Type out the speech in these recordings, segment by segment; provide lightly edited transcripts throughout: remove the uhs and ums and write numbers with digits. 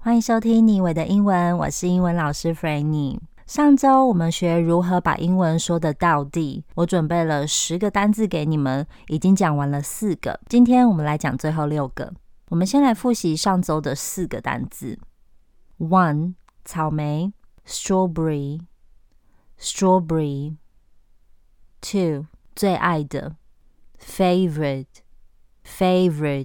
歡迎收聽妮偉的英文，我是英文老師 Frannie。上週我們學如何把英文說得道地，我準備了10個單字給你們，已經講完了4個，今天我們來講最後6個。我們先來複習上週的4個單字。1. 草莓 strawberry strawberry。 2. 最愛的 favorite favorite。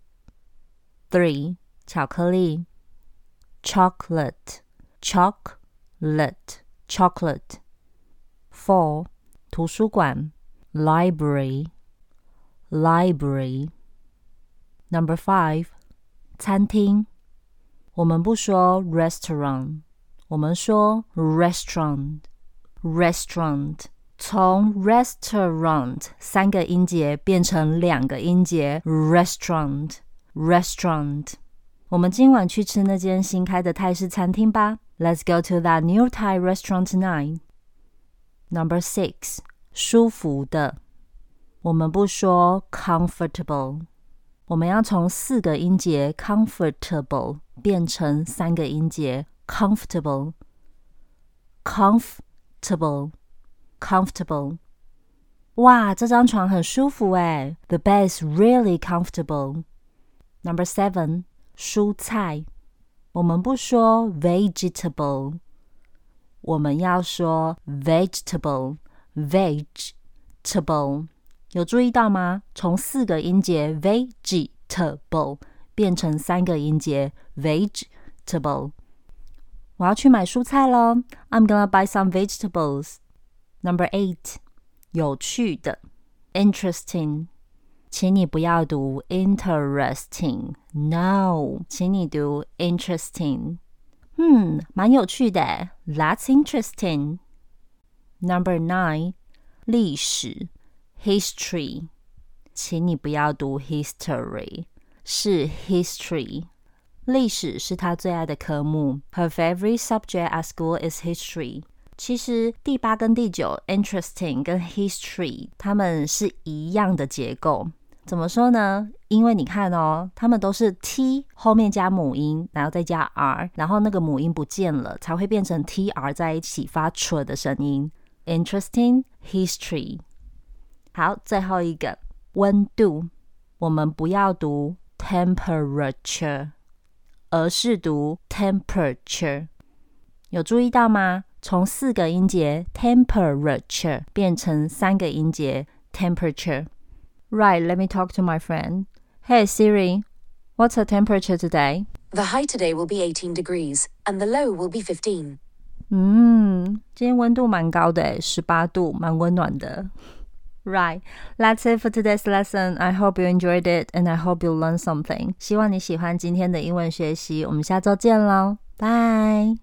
3. 巧克力chocolate chocolate chocolate。 4. 圖書館 library library。 Number 5. 餐廳，我們不說 restaurant， 我們說 restaurant restaurant。 從 restaurant 3個音節變成2個音節 restaurant restaurant。 我們今晚去吃那間新開的泰式餐廳吧。 Let's go to that new Thai restaurant tonight. Number 6. 舒服的，我們不說 comfortable， 我們要從4個音節 comfortable 變成3個音節 comfortable comfortable comfortable。 哇，這張床很舒服耶， The bed is really comfortable. Number 7. 蔬菜，我們不說 vegetable， 我們要說 vegetable vegetable。 有注意到嗎？從4個音節 vegetable 變成3個音節 vegetable。 我要去買蔬菜咯， I'm gonna buy some vegetables. Number 8. 有趣的 interesting， 請你不要讀 interesting， No， 請你讀 interesting。 蠻有趣的， That's interesting。 Number 9. 歷史 history， 請你不要讀 history， 是 history。 歷史是他最愛的科目， Her favorite subject at school is history。 其實第8跟第9 interesting 跟 history 它們是一樣的結構。怎麼說呢？因為你看哦，它們都是 t 後面加母音，然後再加 r， 然後那個母音不見了，才會變成 tr 在一起發出的聲音。 Interesting history。 好，最後一個溫度，我們不要讀 temperature， 而是讀 temperature。 有注意到嗎？從4個音節 temperature 變成3個音節 temperature。 Right, let me talk to my friend. Hey Siri, what's the temperature today? The high today will be 18 degrees, and the low will be 15. 今天溫度蠻高的，18度，蠻溫暖的。Right, that's it for today's lesson. I hope you enjoyed it, and I hope you learned something. 希望你喜歡今天的英文學習，我們下週見咯，拜。